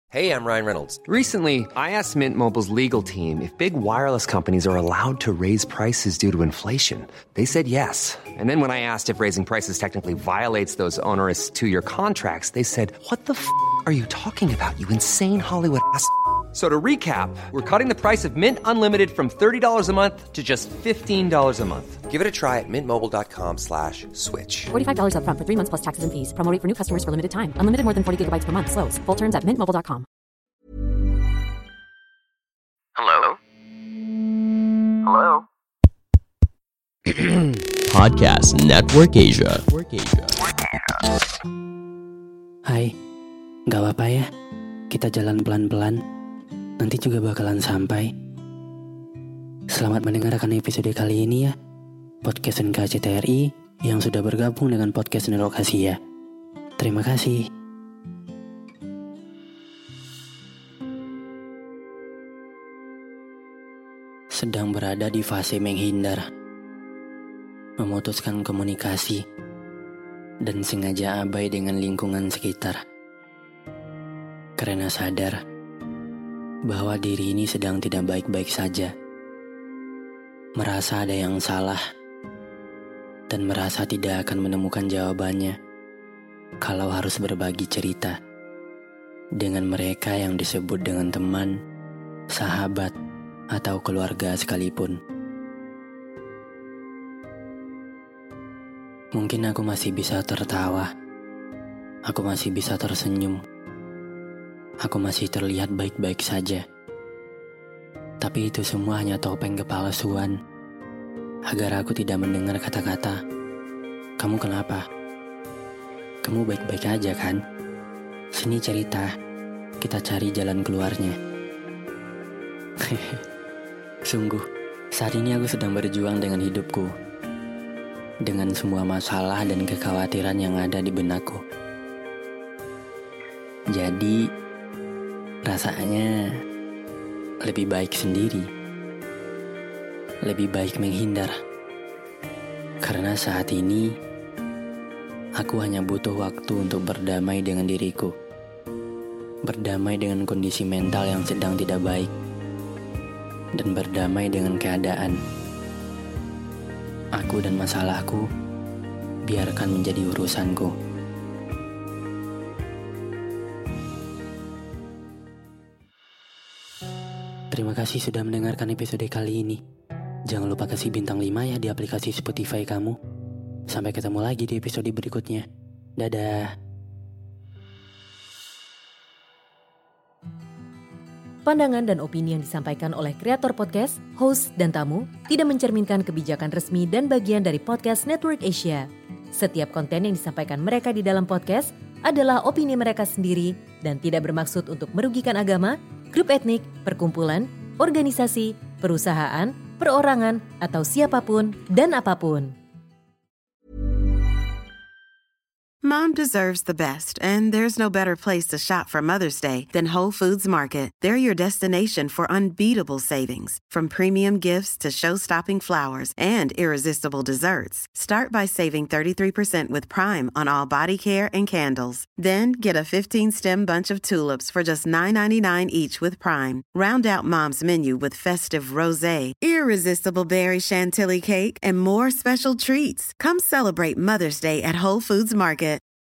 Hey, I'm Ryan Reynolds. Recently, I asked Mint Mobile's legal team if big wireless companies are allowed to raise prices due to inflation. They said yes. And then when I asked if raising prices technically violates those onerous two-year contracts, they said, "What the are you talking about, you insane Hollywood ass?" So to recap, we're cutting the price of Mint Unlimited from $30 a month to just $15 a month. Give it a try at mintmobile.com/switch. $45 up front for 3 months plus taxes and fees. Promo rate for new customers for limited time. Unlimited more than 40 gigabytes per month. Slows full terms at mintmobile.com. Hello? Hello? Podcast Network Asia. Hai, gak apa-apa ya, kita jalan pelan-pelan, nanti juga bakalan sampai. Selamat mendengarkan episode kali ini ya, Podcast NKCTRI yang sudah bergabung dengan Podcast Network Asia. Terima kasih. Sedang berada di fase menghindar, memutuskan komunikasi, dan sengaja abai dengan lingkungan sekitar. Karena sadar bahwa diri ini sedang tidak baik-baik saja. Merasa ada yang salah, dan merasa tidak akan menemukan jawabannya kalau harus berbagi cerita dengan mereka yang disebut dengan teman, sahabat, atau keluarga sekalipun. Mungkin aku masih bisa tertawa, aku masih bisa tersenyum, aku masih terlihat baik-baik saja. Tapi itu semua hanya topeng kepalsuan, agar aku tidak mendengar kata-kata, "Kamu kenapa? Kamu baik-baik aja kan? Sini cerita, kita cari jalan keluarnya." Sungguh, saat ini aku sedang berjuang dengan hidupku, dengan semua masalah dan kekhawatiran yang ada di benakku. Jadi, rasanya lebih baik sendiri, lebih baik menghindar. Karena saat ini, aku hanya butuh waktu untuk berdamai dengan diriku, berdamai dengan kondisi mental yang sedang tidak baik, dan berdamai dengan keadaan. Aku dan masalahku biarkan menjadi urusanku. Terima kasih sudah mendengarkan episode kali ini. Jangan lupa kasih bintang 5 ya di aplikasi Spotify kamu. Sampai ketemu lagi di episode berikutnya. Dadah. Pandangan dan opini yang disampaikan oleh kreator podcast, host, dan tamu tidak mencerminkan kebijakan resmi dan bagian dari Podcast Network Asia. Setiap konten yang disampaikan mereka di dalam podcast adalah opini mereka sendiri dan tidak bermaksud untuk merugikan agama, grup etnik, perkumpulan, organisasi, perusahaan, perorangan, atau siapapun dan apapun. Mom deserves the best, and there's no better place to shop for Mother's Day than Whole Foods Market. They're your destination for unbeatable savings, from premium gifts to show-stopping flowers and irresistible desserts. Start by saving 33% with Prime on all body care and candles. Then get a 15-stem bunch of tulips for just $9.99 each with Prime. Round out Mom's menu with festive rosé, irresistible berry chantilly cake, and more special treats. Come celebrate Mother's Day at Whole Foods Market.